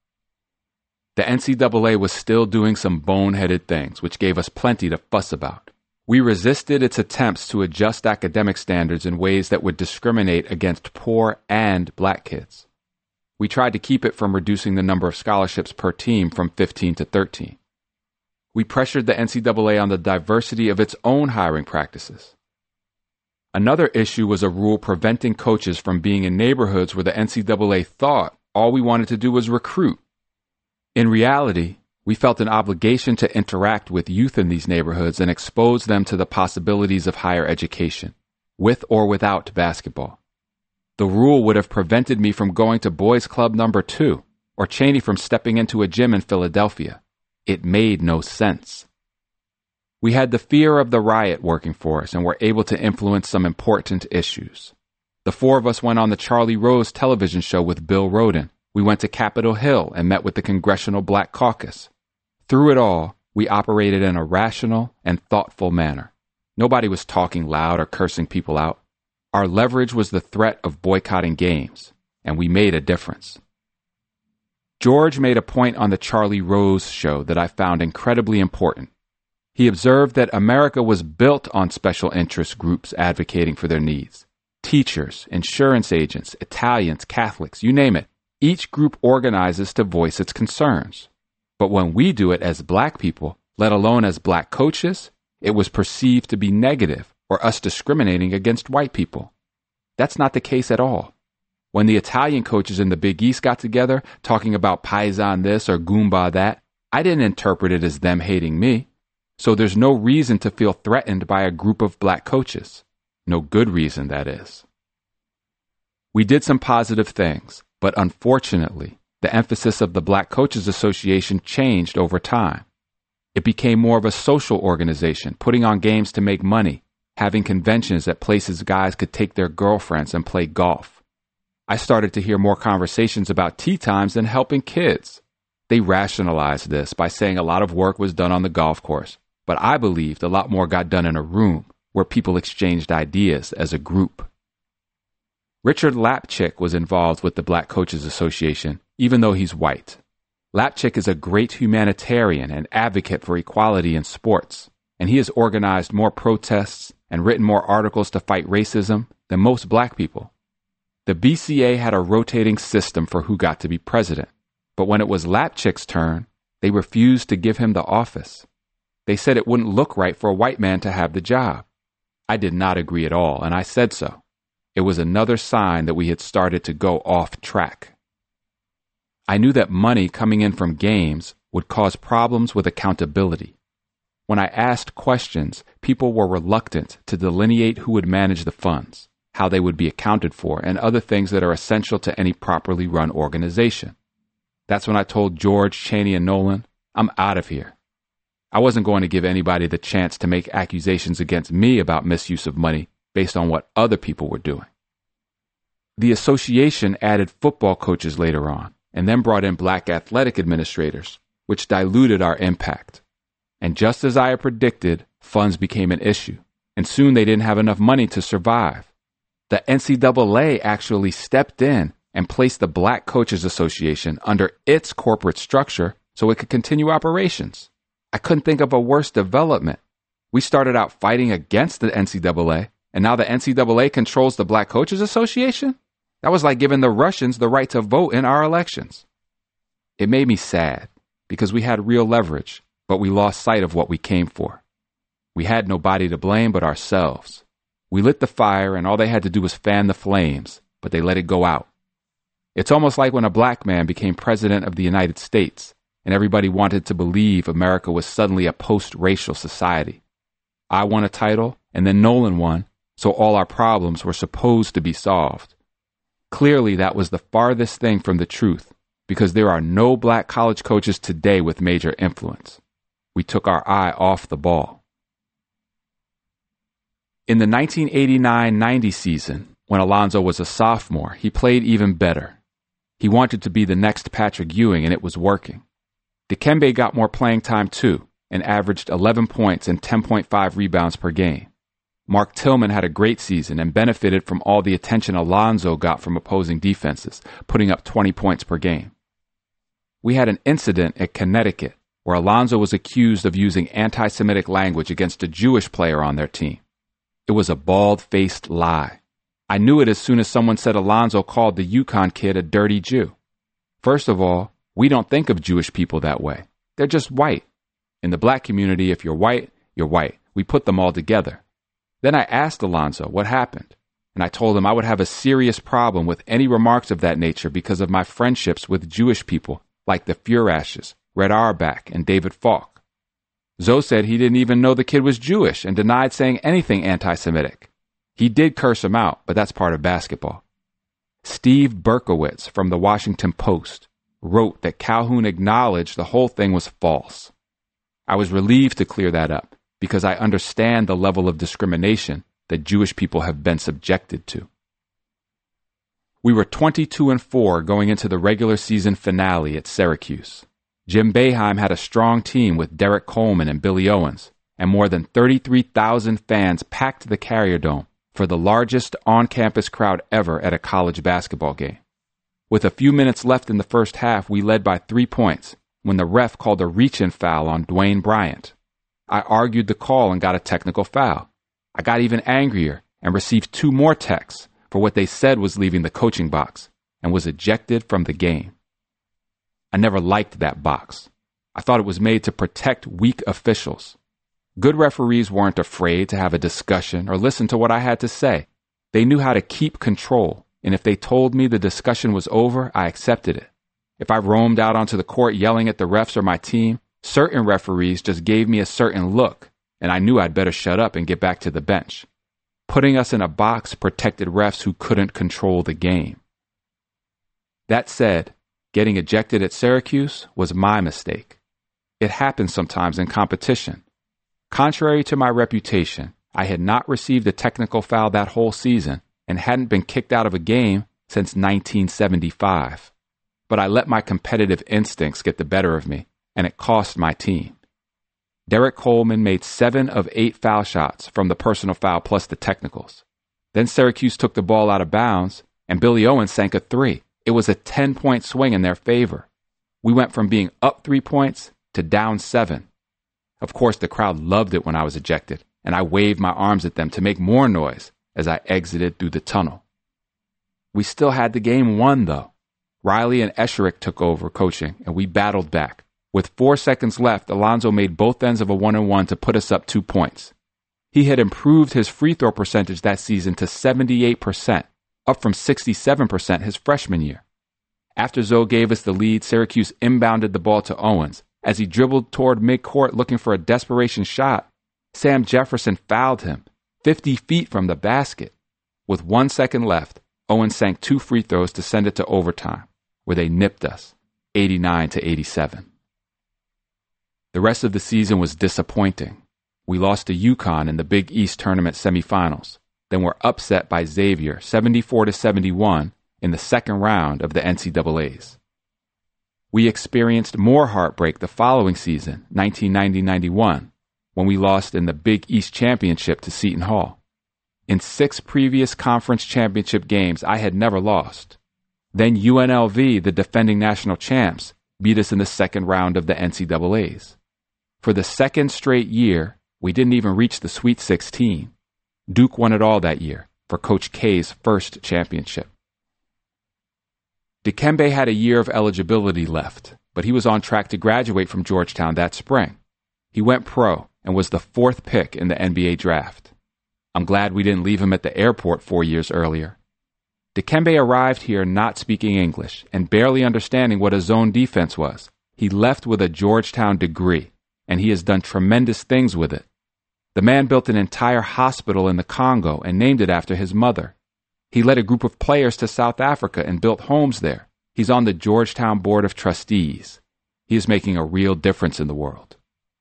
Speaker 1: The N C double A was still doing some boneheaded things, which gave us plenty to fuss about. We resisted its attempts to adjust academic standards in ways that would discriminate against poor and black kids. We tried to keep it from reducing the number of scholarships per team from fifteen to thirteen. We pressured the N C double A on the diversity of its own hiring practices. Another issue was a rule preventing coaches from being in neighborhoods where the N C double A thought all we wanted to do was recruit. In reality, we felt an obligation to interact with youth in these neighborhoods and expose them to the possibilities of higher education, with or without basketball. The rule would have prevented me from going to boys' club number two, or Chaney from stepping into a gym in Philadelphia. It made no sense. We had the fear of the riot working for us and were able to influence some important issues. The four of us went on the Charlie Rose television show with Bill Rhoden. We went to Capitol Hill and met with the Congressional Black Caucus. Through it all, we operated in a rational and thoughtful manner. Nobody was talking loud or cursing people out. Our leverage was the threat of boycotting games, and we made a difference. George made a point on the Charlie Rose show that I found incredibly important. He observed that America was built on special interest groups advocating for their needs. Teachers, insurance agents, Italians, Catholics, you name it. Each group organizes to voice its concerns. But when we do it as black people, let alone as black coaches, it was perceived to be negative or us discriminating against white people. That's not the case at all. When the Italian coaches in the Big East got together talking about Paisan this or Goomba that, I didn't interpret it as them hating me. So there's no reason to feel threatened by a group of black coaches. No good reason, that is. We did some positive things, but unfortunately, the emphasis of the Black Coaches Association changed over time. It became more of a social organization, putting on games to make money, having conventions at places guys could take their girlfriends and play golf. I started to hear more conversations about tea times than helping kids. They rationalized this by saying a lot of work was done on the golf course, but I believed a lot more got done in a room where people exchanged ideas as a group. Richard Lapchick was involved with the Black Coaches Association, even though he's white. Lapchick is a great humanitarian and advocate for equality in sports, and he has organized more protests and written more articles to fight racism than most black people. The B C A had a rotating system for who got to be president, but when it was Lapchick's turn, they refused to give him the office. They said it wouldn't look right for a white man to have the job. I did not agree at all, and I said so. It was another sign that we had started to go off track. I knew that money coming in from games would cause problems with accountability. When I asked questions, people were reluctant to delineate who would manage the funds, how they would be accounted for, and other things that are essential to any properly run organization. That's when I told George, Chaney, and Nolan, I'm out of here. I wasn't going to give anybody the chance to make accusations against me about misuse of money based on what other people were doing. The association added football coaches later on, and then brought in black athletic administrators, which diluted our impact. And just as I had predicted, funds became an issue, and soon they didn't have enough money to survive. The N C double A actually stepped in and placed the Black Coaches Association under its corporate structure so it could continue operations. I couldn't think of a worse development. We started out fighting against the N C double A, and now the N C double A controls the Black Coaches Association? That was like giving the Russians the right to vote in our elections. It made me sad, because we had real leverage, but we lost sight of what we came for. We had nobody to blame but ourselves. We lit the fire, and all they had to do was fan the flames, but they let it go out. It's almost like when a black man became president of the United States, and everybody wanted to believe America was suddenly a post-racial society. I won a title, and then Nolan won, so all our problems were supposed to be solved. Clearly, that was the farthest thing from the truth, because there are no black college coaches today with major influence. We took our eye off the ball. In the nineteen eighty-nine ninety season, when Alonzo was a sophomore, he played even better. He wanted to be the next Patrick Ewing, and it was working. Dikembe got more playing time too, and averaged eleven points and ten point five rebounds per game. Mark Tillman had a great season and benefited from all the attention Alonzo got from opposing defenses, putting up twenty points per game. We had an incident at Connecticut where Alonzo was accused of using anti-Semitic language against a Jewish player on their team. It was a bald-faced lie. I knew it as soon as someone said Alonzo called the UConn kid a dirty Jew. First of all, we don't think of Jewish people that way. They're just white. In the black community, if you're white, you're white. We put them all together. Then I asked Alonzo what happened, and I told him I would have a serious problem with any remarks of that nature because of my friendships with Jewish people like the Furashes, Red Auerbach, and David Falk. Zoe said he didn't even know the kid was Jewish and denied saying anything anti-Semitic. He did curse him out, but that's part of basketball. Steve Berkowitz from the Washington Post wrote that Calhoun acknowledged the whole thing was false. I was relieved to clear that up because I understand the level of discrimination that Jewish people have been subjected to. We were twenty-two and four going into the regular season finale at Syracuse. Jim Boeheim had a strong team with Derek Coleman and Billy Owens, and more than thirty-three thousand fans packed the Carrier Dome, for the largest on-campus crowd ever at a college basketball game. With a few minutes left in the first half, we led by three points when the ref called a reach-in foul on Dwayne Bryant. I argued the call and got a technical foul. I got even angrier and received two more texts for what they said was leaving the coaching box and was ejected from the game. I never liked that box. I thought it was made to protect weak officials. Good referees weren't afraid to have a discussion or listen to what I had to say. They knew how to keep control, and if they told me the discussion was over, I accepted it. If I roamed out onto the court yelling at the refs or my team, certain referees just gave me a certain look, and I knew I'd better shut up and get back to the bench. Putting us in a box protected refs who couldn't control the game. That said, getting ejected at Syracuse was my mistake. It happens sometimes in competition. Contrary to my reputation, I had not received a technical foul that whole season and hadn't been kicked out of a game since nineteen seventy-five. But I let my competitive instincts get the better of me, and it cost my team. Derek Coleman made seven of eight foul shots from the personal foul plus the technicals. Then Syracuse took the ball out of bounds, and Billy Owens sank a three. It was a ten-point swing in their favor. We went from being up three points to down seven. Of course, the crowd loved it when I was ejected, and I waved my arms at them to make more noise as I exited through the tunnel. We still had the game won, though. Riley and Esherick took over coaching, and we battled back. With four seconds left, Alonzo made both ends of a one-and-one to put us up two points. He had improved his free throw percentage that season to seventy-eight percent, up from sixty-seven percent his freshman year. After Zoe gave us the lead, Syracuse inbounded the ball to Owens. As he dribbled toward midcourt looking for a desperation shot, Sam Jefferson fouled him, fifty feet from the basket. With one second left, Owens sank two free throws to send it to overtime, where they nipped us, eighty-nine to eighty-seven. The rest of the season was disappointing. We lost to UConn in the Big East tournament semifinals, then were upset by Xavier seventy-four to seventy-one in the second round of the N C double A's. We experienced more heartbreak the following season, nineteen ninety ninety-one, when we lost in the Big East Championship to Seton Hall. In six previous conference championship games, I had never lost. Then U N L V, the defending national champs, beat us in the second round of the N C double A's. For the second straight year, we didn't even reach the Sweet sixteen. Duke won it all that year for Coach K's first championship. Dikembe had a year of eligibility left, but he was on track to graduate from Georgetown that spring. He went pro and was the fourth pick in the N B A draft. I'm glad we didn't leave him at the airport four years earlier. Dikembe arrived here not speaking English and barely understanding what a zone defense was. He left with a Georgetown degree, and he has done tremendous things with it. The man built an entire hospital in the Congo and named it after his mother. He led a group of players to South Africa and built homes there. He's on the Georgetown Board of Trustees. He is making a real difference in the world.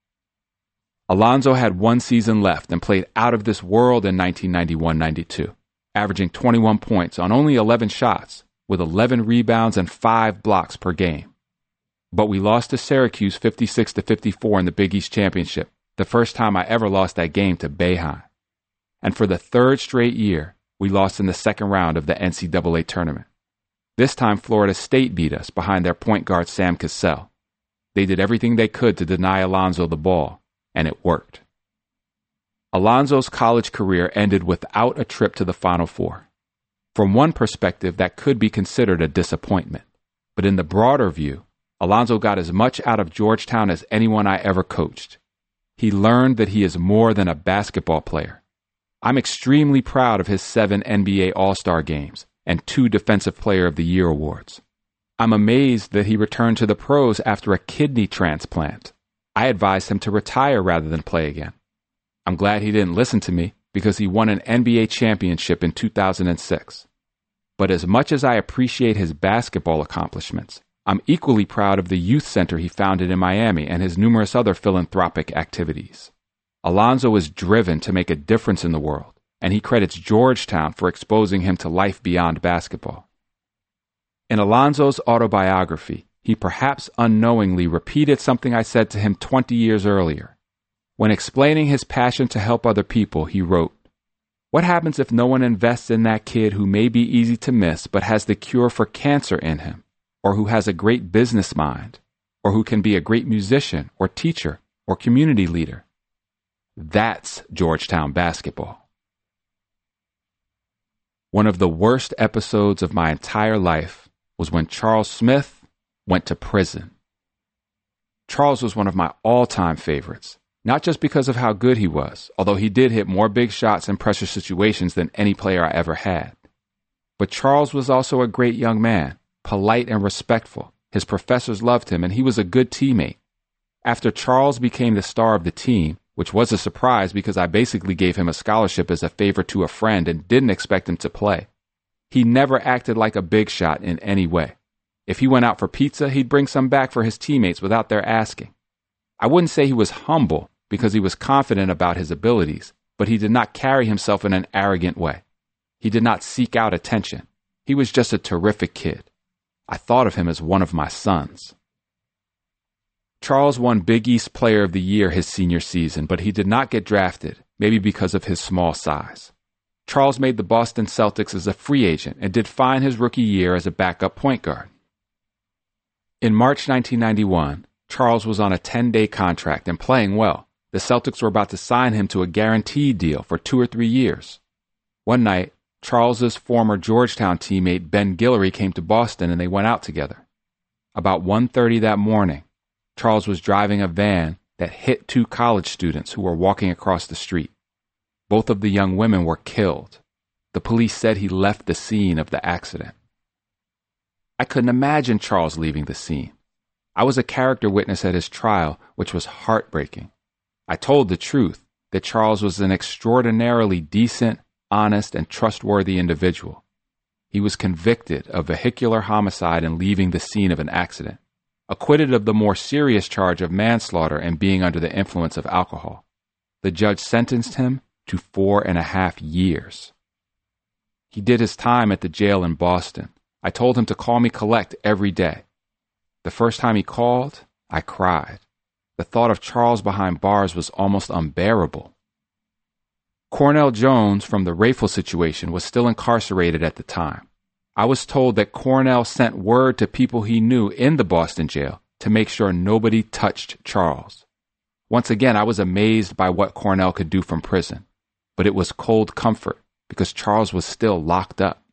Speaker 1: Alonzo had one season left and played out of this world in nineteen ninety-one ninety-two, averaging twenty-one points on only eleven shots, with eleven rebounds and five blocks per game. But we lost to Syracuse fifty-six to fifty-four in the Big East Championship, the first time I ever lost that game to Boeheim. And for the third straight year, we lost in the second round of the N C double A tournament. This time, Florida State beat us behind their point guard Sam Cassell. They did everything they could to deny Alonzo the ball, and it worked. Alonzo's college career ended without a trip to the Final Four. From one perspective, that could be considered a disappointment. But in the broader view, Alonzo got as much out of Georgetown as anyone I ever coached. He learned that he is more than a basketball player. I'm extremely proud of his seven N B A All-Star games and two Defensive Player of the Year awards. I'm amazed that he returned to the pros after a kidney transplant. I advised him to retire rather than play again. I'm glad he didn't listen to me because he won an N B A championship in two thousand six. But as much as I appreciate his basketball accomplishments, I'm equally proud of the youth center he founded in Miami and his numerous other philanthropic activities. Alonzo is driven to make a difference in the world, and he credits Georgetown for exposing him to life beyond basketball. In Alonzo's autobiography, he perhaps unknowingly repeated something I said to him twenty years earlier. When explaining his passion to help other people, he wrote, What happens if no one invests in that kid who may be easy to miss but has the cure for cancer in him, or who has a great business mind, or who can be a great musician or teacher or community leader? That's Georgetown basketball. One of the worst episodes of my entire life was when Charles Smith went to prison. Charles was one of my all-time favorites, not just because of how good he was, although he did hit more big shots in pressure situations than any player I ever had. But Charles was also a great young man, polite and respectful. His professors loved him, and he was a good teammate. After Charles became the star of the team, which was a surprise because I basically gave him a scholarship as a favor to a friend and didn't expect him to play, he never acted like a big shot in any way. If he went out for pizza, he'd bring some back for his teammates without their asking. I wouldn't say he was humble because he was confident about his abilities, but he did not carry himself in an arrogant way. He did not seek out attention. He was just a terrific kid. I thought of him as one of my sons. Charles won Big East Player of the Year his senior season, but he did not get drafted, maybe because of his small size. Charles made the Boston Celtics as a free agent and did fine his rookie year as a backup point guard. In March nineteen ninety-one, Charles was on a ten-day contract and playing well. The Celtics were about to sign him to a guaranteed deal for two or three years. One night, Charles's former Georgetown teammate Ben Guillory came to Boston and they went out together. About one thirty that morning, Charles was driving a van that hit two college students who were walking across the street. Both of the young women were killed. The police said he left the scene of the accident. I couldn't imagine Charles leaving the scene. I was a character witness at his trial, which was heartbreaking. I told the truth, that Charles was an extraordinarily decent, honest, and trustworthy individual. He was convicted of vehicular homicide and leaving the scene of an accident, acquitted of the more serious charge of manslaughter and being under the influence of alcohol. The judge sentenced him to four and a half years. He did his time at the jail in Boston. I told him to call me collect every day. The first time he called, I cried. The thought of Charles behind bars was almost unbearable. Cornell Jones from the Rayful situation was still incarcerated at the time. I was told that Cornell sent word to people he knew in the Boston jail to make sure nobody touched Charles. Once again, I was amazed by what Cornell could do from prison, but it was cold comfort because Charles was still locked up.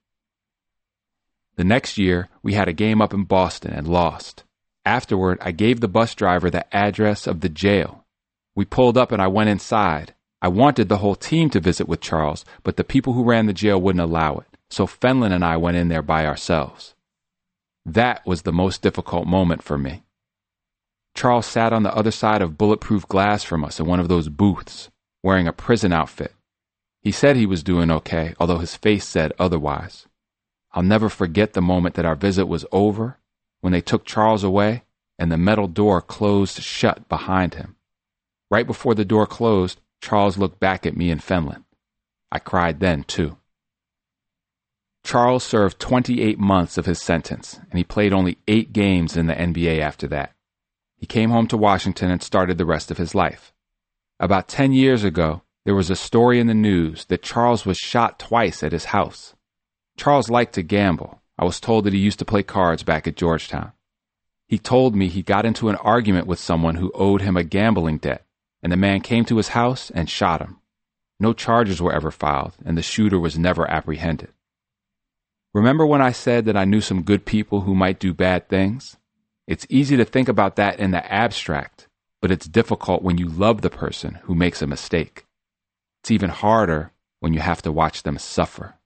Speaker 1: The next year, we had a game up in Boston and lost. Afterward, I gave the bus driver the address of the jail. We pulled up and I went inside. I wanted the whole team to visit with Charles, but the people who ran the jail wouldn't allow it, so Fenlon and I went in there by ourselves. That was the most difficult moment for me. Charles sat on the other side of bulletproof glass from us in one of those booths, wearing a prison outfit. He said he was doing okay, although his face said otherwise. I'll never forget the moment that our visit was over, when they took Charles away and the metal door closed shut behind him. Right before the door closed, Charles looked back at me and Fenlon. I cried then, too. Charles served twenty-eight months of his sentence, and he played only eight games in the N B A after that. He came home to Washington and started the rest of his life. About ten years ago, there was a story in the news that Charles was shot twice at his house. Charles liked to gamble. I was told that he used to play cards back at Georgetown. He told me he got into an argument with someone who owed him a gambling debt, and the man came to his house and shot him. No charges were ever filed, and the shooter was never apprehended. Remember when I said that I knew some good people who might do bad things? It's easy to think about that in the abstract, but it's difficult when you love the person who makes a mistake. It's even harder when you have to watch them suffer.